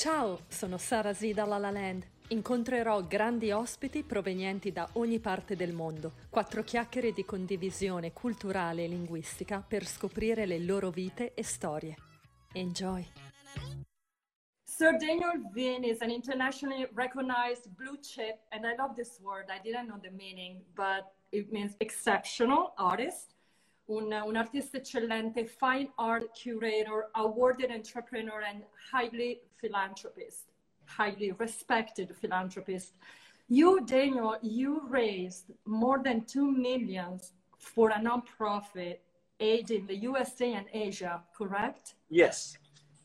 Ciao, sono Sara Z da La La Land. Incontrerò grandi ospiti provenienti da ogni parte del mondo. 4 chiacchiere di condivisione culturale e linguistica per scoprire le loro vite e storie. Enjoy! Sir Daniel Vin is an internationally recognized blue chip, and I love this word. I didn't know the meaning, but it means exceptional artist. Un artista eccellente, fine art curator, awarded entrepreneur, and highly philanthropist, highly respected philanthropist. You, Daniel, you raised more than 2 million for a nonprofit aid in the USA and Asia, correct? Yes.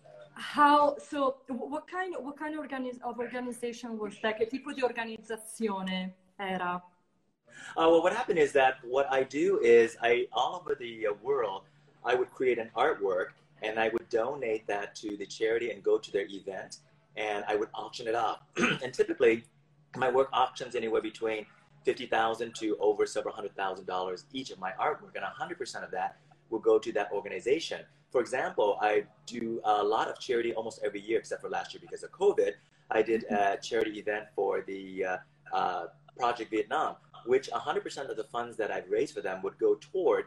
What kind of organization was that? Che tipo di organizzazione era? Well, what happened is that what I do is all over the world, I would create an artwork and I would donate that to the charity and go to their event and I would auction it off. And typically, my work auctions anywhere between $50,000 to over several $100,000 each of my artwork, and 100% of that will go to that organization. For example, I do a lot of charity almost every year, except for last year because of COVID. I did a charity event for the Project Vietnam, which 100% of the funds that I've raised for them would go toward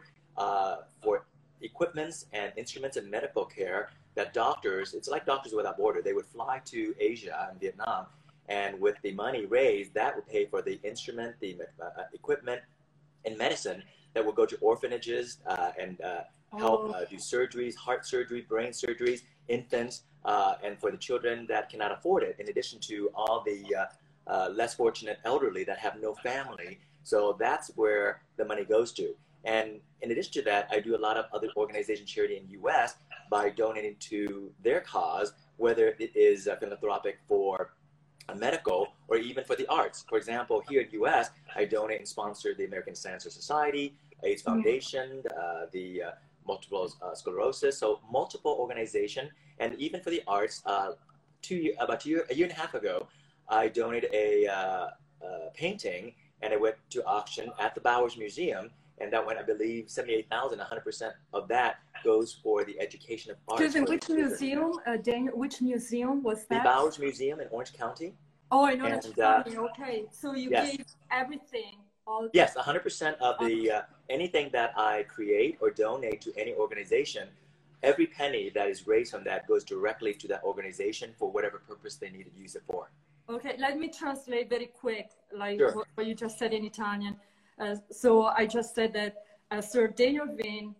for equipments and instruments and medical care that doctors, it's like Doctors Without Borders, they would fly to Asia and Vietnam, and with the money raised, that would pay for the instrument, the equipment, and medicine that will go to orphanages and help do surgeries, heart surgery, brain surgeries, infants, and for the children that cannot afford it, in addition to all the less fortunate elderly that have no family. So that's where the money goes to. And in addition to that, I do a lot of other organization charity in the U.S. by donating to their cause, whether it is philanthropic for medical or even for the arts. For example, here in the U.S., I donate and sponsor the American Cancer Society, AIDS Foundation, the multiple sclerosis, so multiple organizations. And even for the arts, about a year and a half ago, I donated a painting and it went to auction at the Bowers Museum. And that went, I believe, $78,000. 100% of that goes for the education of arts. Excuse me, which museum, Daniel? Which museum was that? The Bowers Museum in Orange County. Oh, in Orange County. Okay, so you gave everything. Yes, 100% of the anything that I create or donate to any organization, every penny that is raised from that goes directly to that organization for whatever purpose they need to use it for. Okay, let me translate very quick, like Sure. what you just said in Italian. So I just said that Sir Daniel Vin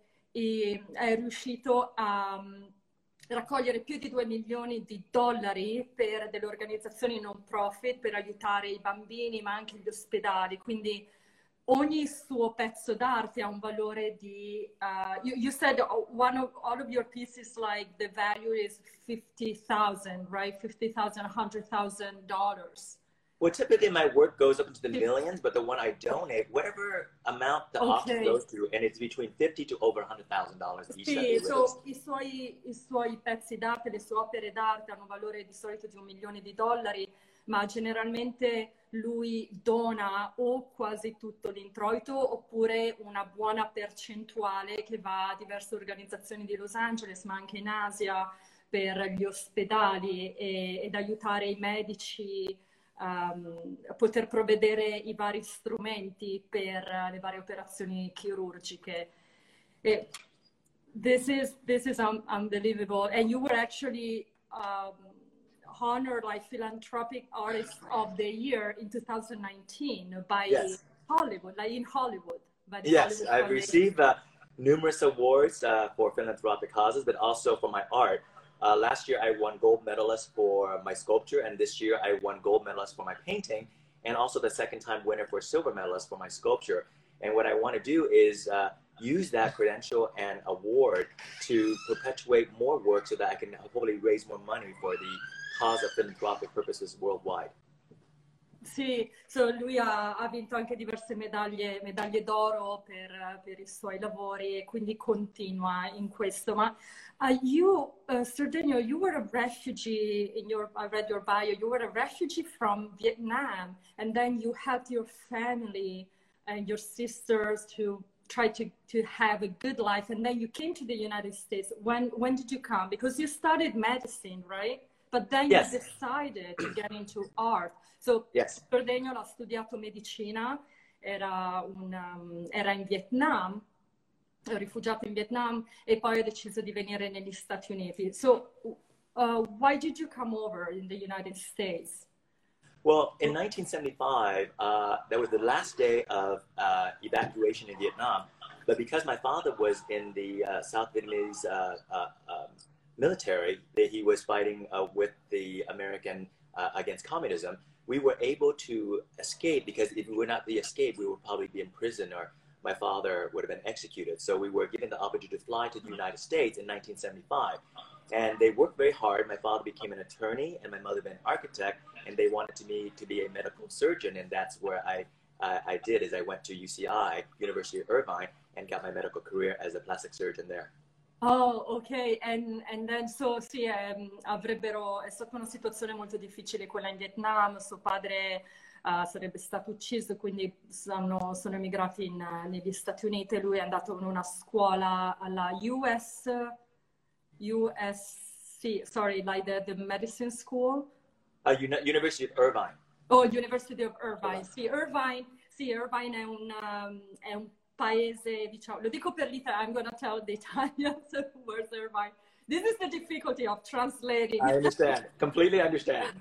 è riuscito a raccogliere più di 2 milioni di dollari per delle organizzazioni non profit per aiutare i bambini ma anche gli ospedali, quindi ogni suo pezzo d'arte ha un valore di you said all of your pieces, like the value is 50,000, right? 50,000, $100,000. Well, typically my work goes up into the millions, but the one I donate, whatever amount the auction goes to, and it's between $50,000 to over $100,000 each. Sì, so, i suoi pezzi d'arte, le sue opere d'arte hanno un valore di solito di $1 milione, ma generalmente lui dona o quasi tutto l'introito oppure una buona percentuale che va a diverse organizzazioni di Los Angeles, ma anche in Asia, per gli ospedali ed aiutare i medici a poter provvedere i vari strumenti per le varie operazioni chirurgiche. This is unbelievable. And you were actually honored like Philanthropic Artist of the Year in 2019 by Hollywood, like in Hollywood. Yes, I've received numerous awards for philanthropic causes, but also for my art. Last year, I won gold medalist for my sculpture, and this year I won gold medalist for my painting, and also the second-time winner for silver medalist for my sculpture. And what I want to do is use that credential and award to perpetuate more work so that I can hopefully raise more money for the cause of philanthropic purposes worldwide. Sì, lui ha vinto anche diverse medaglie d'oro per i suoi lavori e quindi continua in questo. Ma Sir Daniel, you were a refugee I read your bio, you were a refugee from Vietnam, and then you helped your family and your sisters to try to have a good life, and then you came to the United States. When did you come? Because you studied medicine, right? but then Yes. you decided to get into art. So Yes. Sir Daniel ha studiato medicina, era in Vietnam, rifugiato in Vietnam, e poi ha deciso di venire negli Stati Uniti. So why did you come over in the United States? Well, in 1975, that was the last day of evacuation in Vietnam. But because my father was in the South Vietnamese military, that he was fighting with the American against communism, we were able to escape, because if we would not be escaped, we would probably be in prison, or my father would have been executed. So we were given the opportunity to fly to the United States in 1975. And they worked very hard. My father became an attorney and my mother an architect, and they wanted me to be a medical surgeon. And that's where I did, is I went to UCI, University of Irvine, and got my medical career as a plastic surgeon there. Oh, ok, and then so sì, è stata una situazione molto difficile quella in Vietnam, suo padre sarebbe stato ucciso, quindi sono emigrati negli Stati Uniti, lui è andato in una scuola alla USC, sorry, like the medicine school. University of Irvine. Oh, University of Irvine, sì, Irvine è un paese, diciamo, lo dico per l'Italia, I'm going to tell the Italians where's Irvine. This is the difficulty of translating. I understand, completely understand.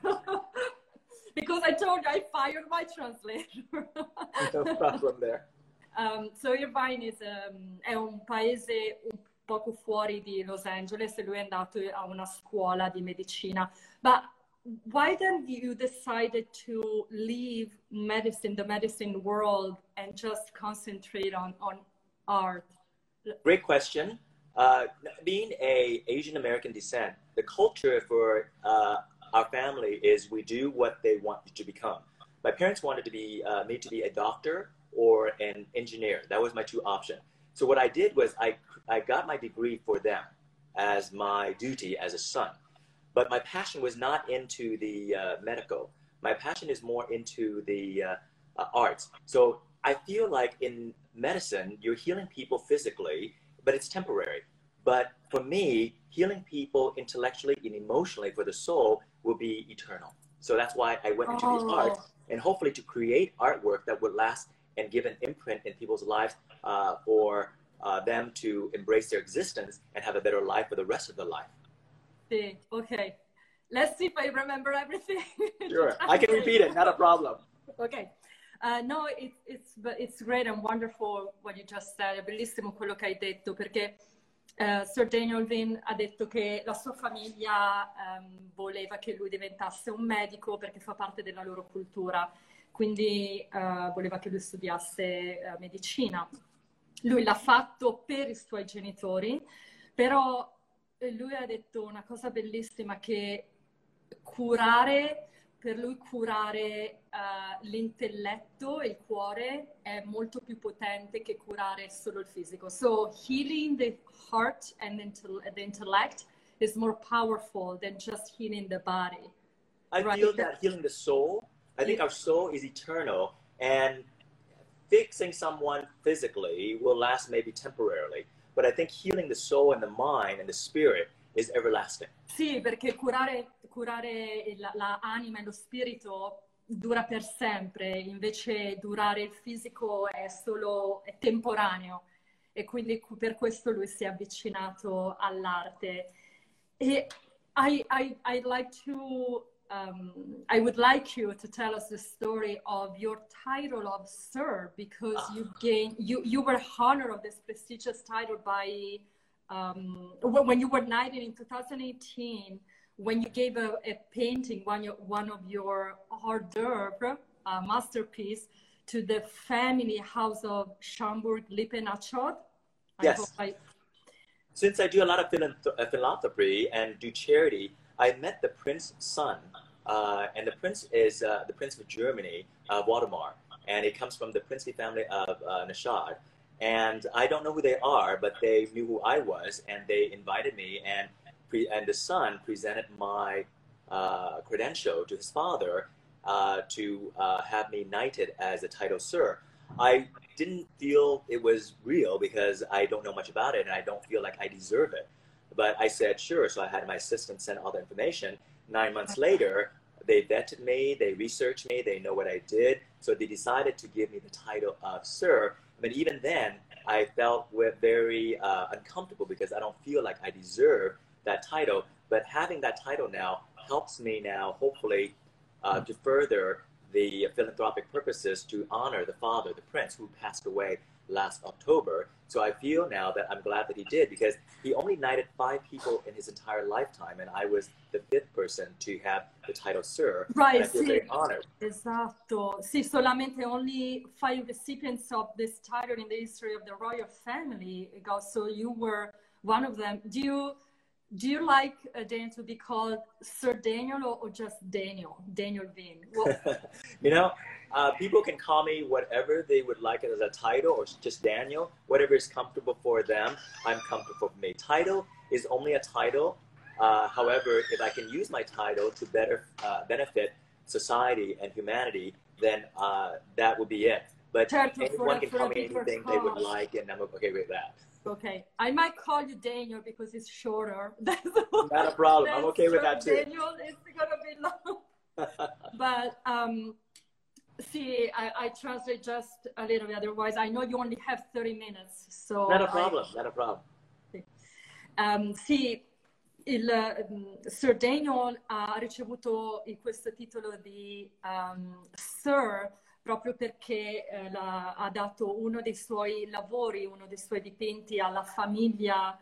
Because I told you I fired my translator. No problem there. So Irvine è un paese un poco fuori di Los Angeles, e lui è andato a una scuola di medicina. But why then you decided to leave medicine, the medicine world, and just concentrate on art? Great question. Being an Asian American descent, the culture for our family is we do what they want you to become. My parents wanted to be me to be a doctor or an engineer. That was my two options. So what I did was I got my degree for them as my duty as a son. But my passion was not into the medical. My passion is more into the arts. So I feel like in medicine, you're healing people physically, but it's temporary. But for me, healing people intellectually and emotionally for the soul will be eternal. So that's why I went into the art, and hopefully to create artwork that would last and give an imprint in people's lives for them to embrace their existence and have a better life for the rest of their life. Okay. Let's see if I remember everything. Sure, I can repeat it, not a problem. Okay. No, it's great and wonderful what you just said. È bellissimo quello che hai detto, perché Sir Daniel Vin ha detto che la sua famiglia voleva che lui diventasse un medico perché fa parte della loro cultura, quindi voleva che lui studiasse medicina. Lui l'ha fatto per i suoi genitori, però lui ha detto una cosa bellissima, che per lui curare l'intelletto e il cuore è molto più potente che curare solo il fisico. So healing the heart and the intellect is more powerful than just healing the body. I feel that healing the soul, I think our soul is eternal, and fixing someone physically will last maybe temporarily. But I think healing the soul and the mind and the spirit is everlasting. Sì, perché curare l'anima e lo spirito dura per sempre, invece durare il fisico è temporaneo, e quindi per questo lui si è avvicinato all'arte. E I would like you to tell us the story of your title of Sir, because you were honored of this prestigious title by when you were knighted in 2018, when you gave a painting, one of your hors d'oeuvre, masterpiece, to the family house of Schaumburg-Lippe-Nachod. Yes. Since I do a lot of philanthropy and do charity, I met the prince's son, and the prince is the prince of Germany, Waldemar, and it comes from the princely family of Nachod. And I don't know who they are, but they knew who I was, and they invited me, and the son presented my credential to his father to have me knighted as a title Sir. I didn't feel it was real because I don't know much about it, and I don't feel like I deserve it. But I said, sure. So I had my assistant send all the information. 9 months later, they vetted me, they researched me, they know what I did. So they decided to give me the title of Sir. But even then, I felt very uncomfortable because I don't feel like I deserve that title. But having that title now helps me now, hopefully, to further the philanthropic purposes to honor the father, the prince, who passed away last October. So I feel now that I'm glad that he did, because he only knighted 5 people in his entire lifetime, and I was the 5th person to have the title Sir. Right, and I feel very honored. Esatto. Sì, solamente only 5 recipients of this title in the history of the royal family got, so you were one of them. Do you like Daniel to be called Sir Daniel or just Daniel Vin? Well, You know, people can call me whatever they would like as a title, or just Daniel, whatever is comfortable for them. I'm comfortable for me. Title is only a title. However, if I can use my title to better benefit society and humanity, then that would be it. But anyone can call me anything they would like, and I'm okay with that. Okay, I might call you Daniel because it's shorter. Not a problem. I'm okay with that too. Daniel is gonna be long. But see, I translate just a little bit. Otherwise, I know you only have 30 minutes. So not a problem. Not a problem. Sì, Sir Daniel ha ricevuto questo titolo di Sir proprio perché ha dato uno dei suoi lavori, uno dei suoi dipinti alla famiglia,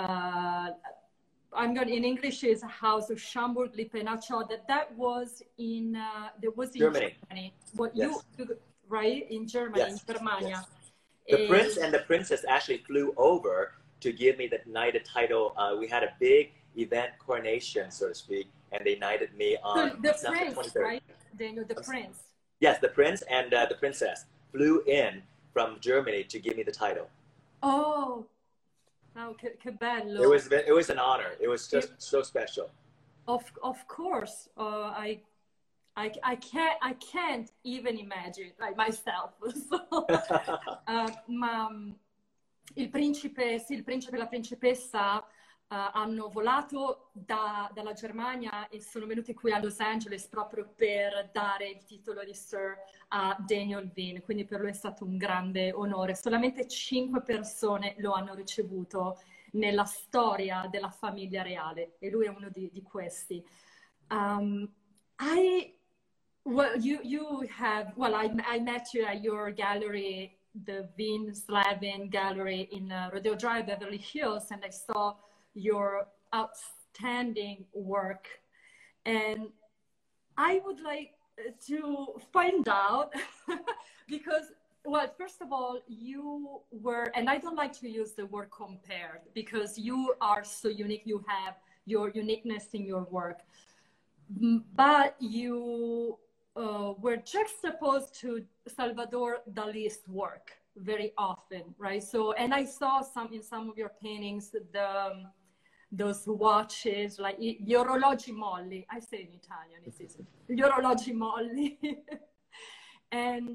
in English is House of Schaumburg-Lippe-Nassau, that was in Germany. What yes. you, right? In Germany, yes. in Germania. Yes. The prince and the princess actually flew over to give me the knighted title. We had a big event coronation, so to speak, and they knighted me on the December prince, 23rd. right? Daniel, the prince. Yes, the prince and the princess flew in from Germany to give me the title. Oh, che bello. It was an honor. It was just so special. Of course, I can't even imagine myself. So, ma il principe e la principessa hanno volato dalla Germania e sono venuti qui a Los Angeles proprio per dare il titolo di Sir a Daniel Vin, quindi per lui è stato un grande onore. Solamente 5 persone lo hanno ricevuto nella storia della famiglia reale e lui è uno di questi. I met you at your gallery, the Vin Slavin Gallery in Rodeo Drive, Beverly Hills, and I saw your outstanding work. And I would like to find out, because, well, first of all, you were, and I don't like to use the word compared, because you are so unique, you have your uniqueness in your work, but you were juxtaposed to Salvador Dali's work very often, right? So, and I saw in some of your paintings, those watches, like gli orologi molli. I say in Italian, it's gli orologi molli. And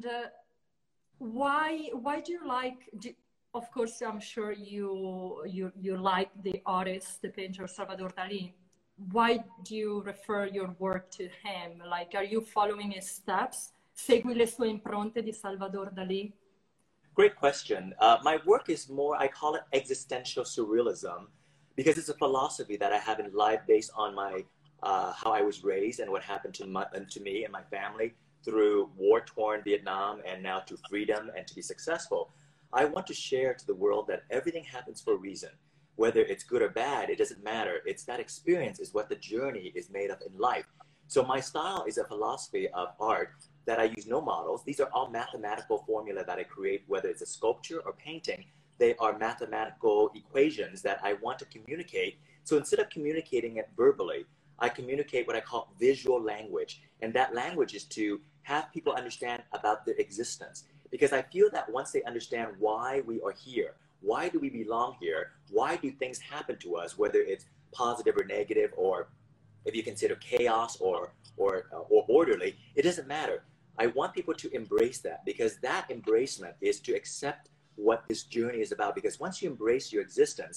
why do you like? Of course, I'm sure you like the artist, the painter Salvador Dali. Why do you refer your work to him? Like, are you following his steps? Segui le sue impronte di Salvador Dali? Great question. My work is more, I call it existential surrealism, because it's a philosophy that I have in life based on my how I was raised and what happened to me and my family through war-torn Vietnam and now to freedom and to be successful. I want to share to the world that everything happens for a reason. Whether it's good or bad, it doesn't matter. It's that experience is what the journey is made of in life. So my style is a philosophy of art that I use no models. These are all mathematical formula that I create, whether it's a sculpture or painting. They are mathematical equations that I want to communicate. So instead of communicating it verbally, I communicate what I call visual language. And that language is to have people understand about their existence. Because I feel that once they understand why we are here, why do we belong here, why do things happen to us, whether it's positive or negative, or if you consider chaos or orderly, it doesn't matter. I want people to embrace that, because that embracement is to accept what this journey is about. Because once you embrace your existence,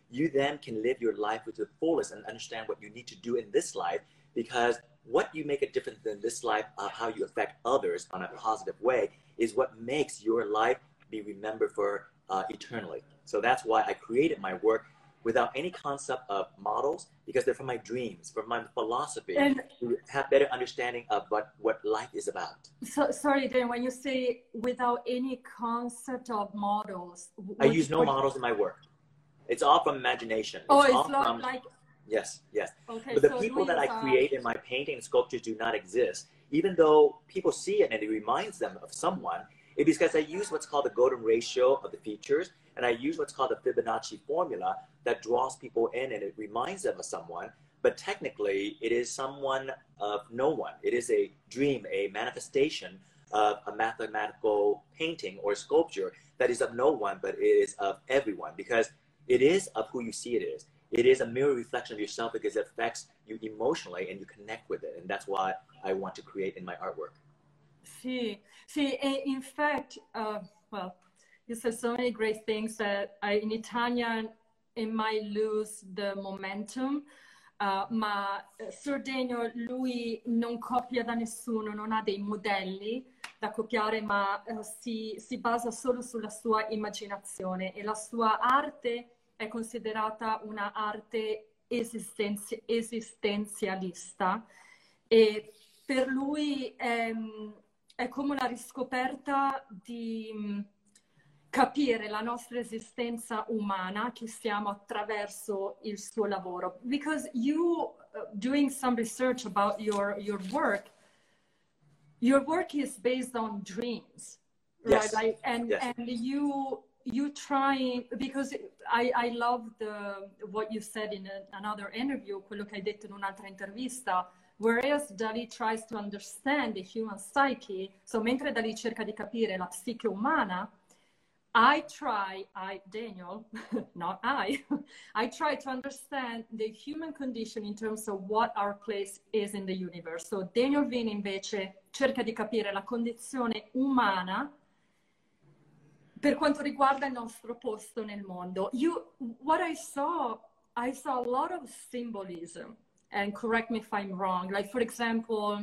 you then can live your life with the fullest and understand what you need to do in this life, because what you make a difference in this life of how you affect others on a positive way is what makes your life be remembered for eternally. So that's why I created my work without any concept of models, because they're from my dreams, from my philosophy, and to have better understanding of what life is about. So, sorry, Dan, when you say without any concept of models, I use no models in my work. It's all from imagination. It's not from, like... Yes, yes. Okay, but the people that I create in my painting and sculptures do not exist. Even though people see it and it reminds them of someone, it's because I use what's called the golden ratio of the features, and I use what's called the Fibonacci formula that draws people in and it reminds them of someone. But technically, it is someone of no one. It is a dream, a manifestation of a mathematical painting or sculpture that is of no one, but it is of everyone, because it is of who you see it is. It is a mirror reflection of yourself because it affects you emotionally and you connect with it. And that's why I want to create in my artwork. See, in fact, well, you said so many great things that in Italian it might lose the momentum. Ma Sir Daniel, lui non copia da nessuno, non ha dei modelli da copiare, ma si basa solo sulla sua immaginazione, e la sua arte è considerata una arte esistenzialista, e per lui è come una riscoperta di capire la nostra esistenza umana che siamo attraverso il suo lavoro. Because you, doing some research about your work is based on dreams, right? Yes. Like, and you try, because I love what you said in another interview, quello che hai detto in un'altra intervista, whereas Dalí tries to understand the human psyche, so mentre Dalí cerca di capire la psiche umana, Daniel, not I try to understand the human condition in terms of what our place is in the universe. So Daniel Vini invece cerca di capire la condizione umana per quanto riguarda il nostro posto nel mondo. What I saw a lot of symbolism, and correct me if I'm wrong. Like, for example,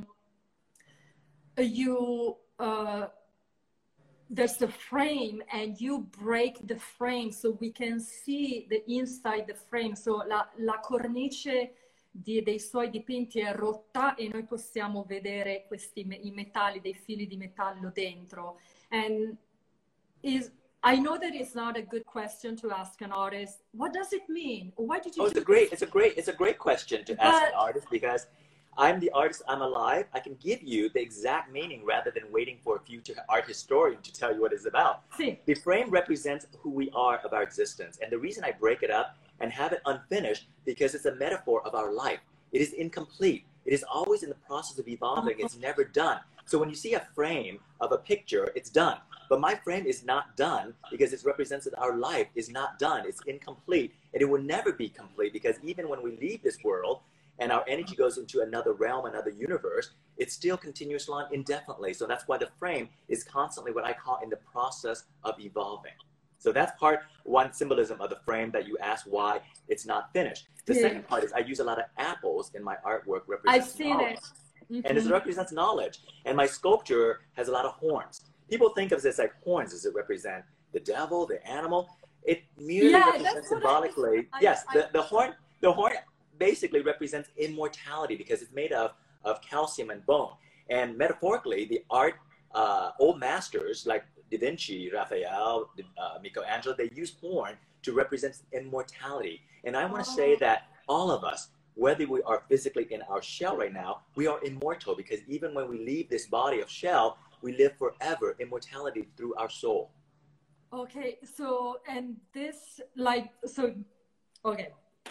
there's the frame and you break the frame so we can see the inside the frame. So la cornice dei suoi dipinti è rotta e noi possiamo vedere i metalli, dei fili di metallo dentro. And I know that it's not a good question to ask an artist. What does it mean? Why did you? It's a great question to ask an artist, because I'm the artist, I'm alive. I can give you the exact meaning rather than waiting for a future art historian to tell you what it's about. Sí. The frame represents who we are of our existence. And the reason I break it up and have it unfinished, because it's a metaphor of our life. It is incomplete. It is always in the process of evolving. It's never done. So when you see a frame of a picture, it's done. But my frame is not done because it represents that our life is not done. It's incomplete. And it will never be complete, because even when we leave this world, and our energy goes into another realm, another universe, it still continues on indefinitely. So that's why the frame is constantly what I call in the process of evolving. So that's one symbolism of the frame that you asked why it's not finished. The second part is I use a lot of apples in my artwork represents knowledge. And it represents knowledge. And my sculpture has a lot of horns. People think of this like horns. Does it represent the devil, the animal? It merely represents symbolically. The horn basically represents immortality, because it's made of calcium and bone. And metaphorically, the art old masters like Da Vinci, Raphael, Michelangelo, they use horn to represent immortality. And I want to say that all of us, whether we are physically in our shell right now, we are immortal, because even when we leave this body of shell, we live forever, immortality through our soul. Okay, so, and this, like, so, okay.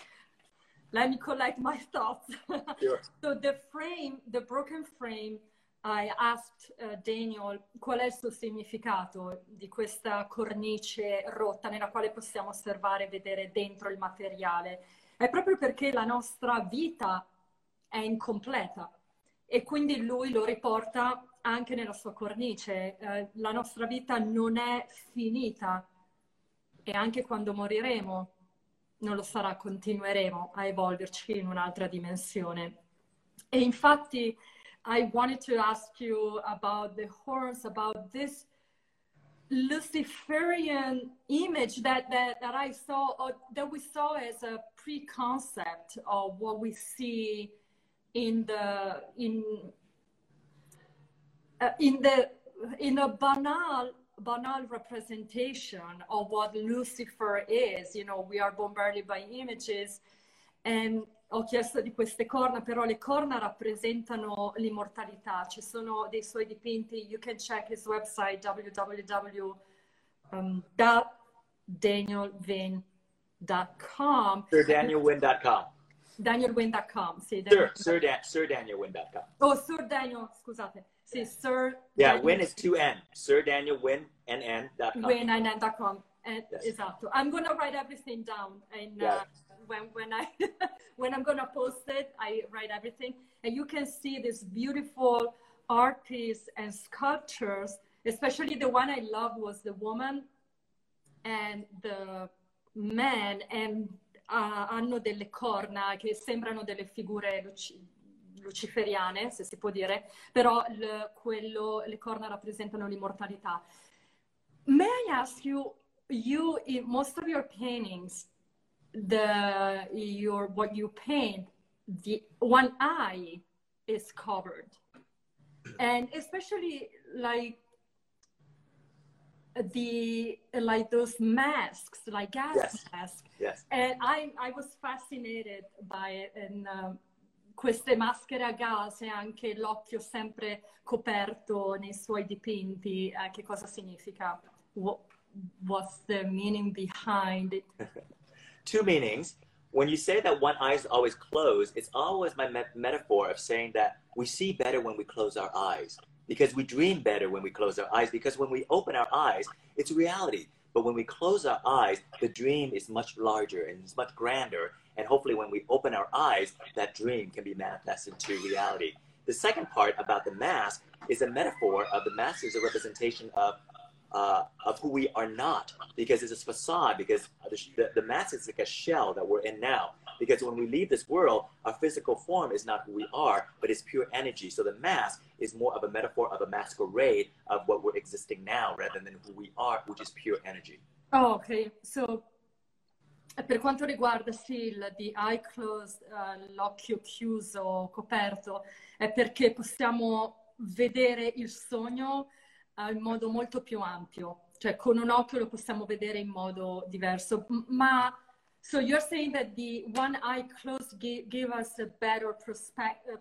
Let me collect my thoughts. Sure. So the broken frame, I asked Daniel qual è il suo significato di questa cornice rotta nella quale possiamo osservare e vedere dentro il materiale. È proprio perché la nostra vita è incompleta, e quindi lui lo riporta anche nella sua cornice. La nostra vita non è finita, e anche quando moriremo non lo sarà, continueremo a evolverci in un'altra dimensione. E infatti, I wanted to ask you about the horns, about this Luciferian image that I saw, or that we saw as a pre-concept of what we see in a banal representation of what Lucifer is. You know, we are bombarded by images, and ho chiesto di queste corna, però le corna rappresentano l'immortalità. Ci sono dei suoi dipinti, you can check his website www.danielwynn.com. SirDanielWynn.com. DanielWynn.com, sì. SirDanielWynn.com. Oh, Sir Daniel, scusate. Sì, Sir Yeah, Daniel, Wynn is 2N. SirDanielWynn.com. WynnNN.com. Yes. Esatto. I'm going to write everything down. And when I when I'm going to post it, I write everything. And you can see this beautiful art piece and sculptures, especially the one I loved was the woman and the man, and hanno delle corna che sembrano delle figure luciferiane, se si può dire, però le corna rappresentano l'immortalità. May I ask you, in most of your paintings, what you paint, the one eye is covered, and especially like those masks, like gas masks. Yes. And I was fascinated by it, and queste maschere a gas e anche l'occhio sempre coperto nei suoi dipinti, che cosa significa? What's the meaning behind it? Two meanings. When you say that one eye is always closed, it's always my metaphor of saying that we see better when we close our eyes, because we dream better when we close our eyes, because when we open our eyes, it's reality. But when we close our eyes, the dream is much larger and it's much grander. And hopefully when we open our eyes, that dream can be manifested into reality. The second part about the mask is a metaphor of the mask is a representation of who we are not, because it's a facade, because the mask is like a shell that we're in now. Because when we leave this world, our physical form is not who we are, but it's pure energy. So the mask is more of a metaphor of a masquerade of what we're existing now, rather than who we are, which is pure energy. Oh, ok. So, per quanto riguarda sì, the eye closed, l'occhio chiuso, coperto, è perché possiamo vedere il sogno in modo molto più ampio. Cioè, con un occhio lo possiamo vedere in modo diverso. Ma so you're saying that the one eye closed give us a better perspective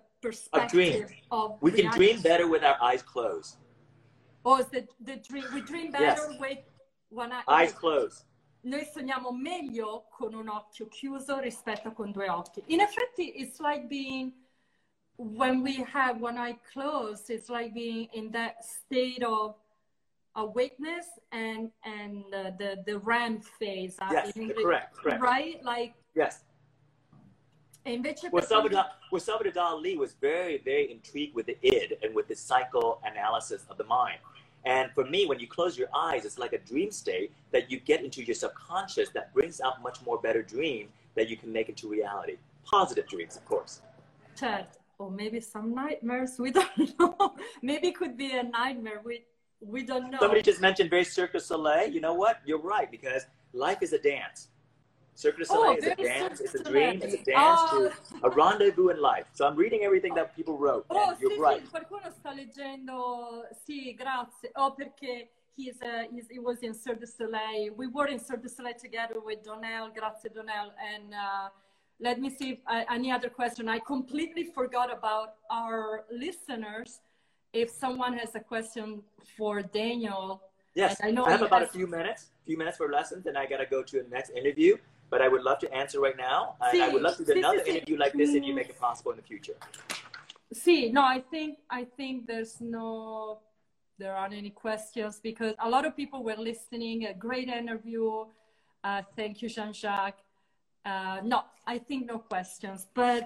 of we can dream better with our eyes closed. Oh, is the dream, we dream better with one eye eyes closed. Noi sogniamo meglio con un occhio chiuso rispetto a con due occhi. In effetti, it's like being, when we have one eye closed, it's like being in that state of awakeness and the REM phase. Yes, correct. Right? Like, yes. E invece Salvador Dali was very, very intrigued with the id and with the psychoanalysis of the mind. And for me, when you close your eyes, it's like a dream state that you get into your subconscious that brings out much more better dreams that you can make into reality. Positive dreams, of course. Certo. Or maybe some nightmares, we don't know. Maybe it could be a nightmare, we don't know. Somebody just mentioned very Cirque du Soleil. You know what? You're right, because life is a dance. Cirque du Soleil is a dance, it's a dream, it's a dance to a rendezvous in life. So I'm reading everything that people wrote, and you're right. Sì, qualcuno sta leggendo, sì, grazie. Oh, perché he was in Cirque du Soleil. We were in Cirque du Soleil together with Donnell, grazie Donnell. And let me see if any other question. I completely forgot about our listeners. If someone has a question for Daniel. Yes, I have about a few minutes for lessons, and I got to go to the next interview. But I would love to answer right now. And I would love to do another interview like this if you make it possible in the future. See, no, I think there aren't any questions, because a lot of people were listening. A great interview. Thank you, Jean-Jacques. No, I think no questions. But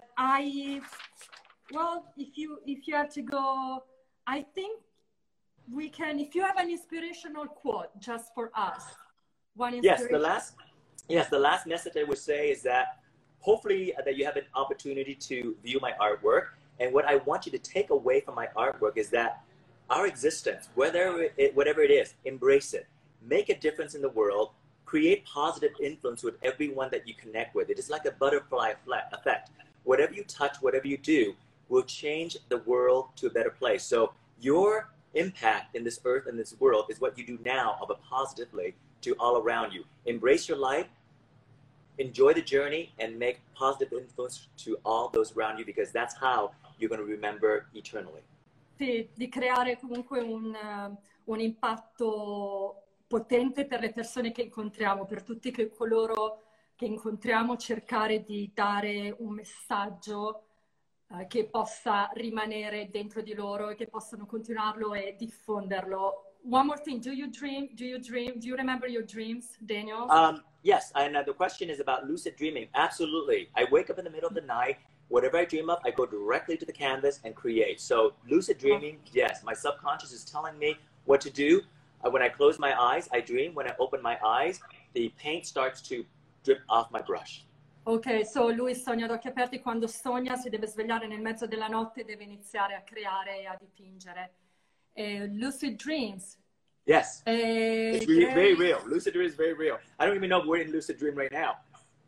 if you have to go, I think we can, if you have an inspirational quote just for us. Yes, the last Yes, the last message I would say is that hopefully that you have an opportunity to view my artwork. And what I want you to take away from my artwork is that our existence, whatever it is, embrace it. Make a difference in the world. Create positive influence with everyone that you connect with. It is like a butterfly effect. Whatever you touch, whatever you do, will change the world to a better place. So your impact in this earth and this world is what you do now of a positively to all around you. Embrace your life, enjoy the journey, and make positive influence to all those around you, because that's how you're going to remember eternally. Sì, di creare comunque un impatto potente per le persone che incontriamo, per tutti coloro che incontriamo, cercare di dare un messaggio che possa rimanere dentro di loro e che possano continuarlo e diffonderlo. One more thing, do you dream? Do you remember your dreams, Daniel? Yes, and the question is about lucid dreaming. Absolutely. I wake up in the middle of the night. Whatever I dream of, I go directly to the canvas and create. So lucid dreaming, yes, my subconscious is telling me what to do. When I close my eyes, I dream. When I open my eyes, the paint starts to drip off my brush. Ok, so lui sogna ad occhi aperti. Quando sogna si deve svegliare nel mezzo della notte e deve iniziare a creare e a dipingere. Lucid dreams. Yes, it's very real. Lucid dream is very real. I don't even know if we're in lucid dream right now.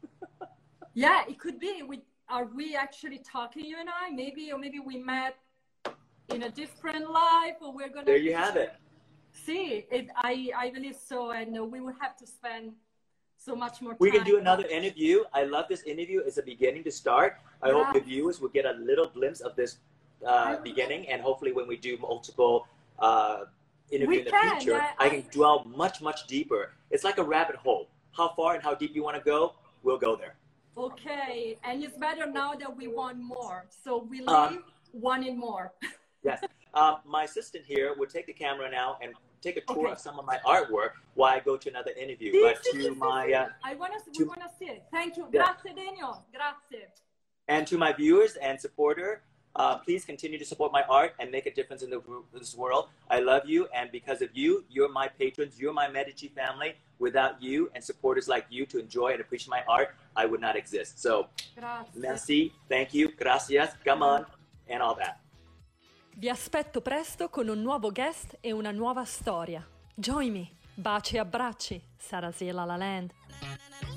Yeah, it could be. Are we actually talking, you and I? Maybe, or maybe we met in a different life, or we're gonna. There you have it. See, I believe so, and we will have to spend so much more time. We can do another interview. I love this interview. It's a beginning to start. I hope the viewers will get a little glimpse of this beginning, and hopefully when we do multiple interview in the future, I can dwell much, much deeper. It's like a rabbit hole. How far and how deep you want to go, we'll go there. Okay, and it's better now that we want more. So we leave wanting more. Yes. My assistant here will take the camera now and take a tour of some of my artwork while I go to another interview. But to my, we want to see it. Thank you. Grazie, Daniel. Grazie. And to my viewers and supporter, please continue to support my art and make a difference in this world. I love you, and because of you, you're my patrons, you're my Medici family. Without you and supporters like you to enjoy and appreciate my art, I would not exist. So, merci, thank you, gracias, come on, and all that. Vi aspetto presto con un nuovo guest e una nuova storia. Join me. Baci e abbracci. Sarasiela La Land.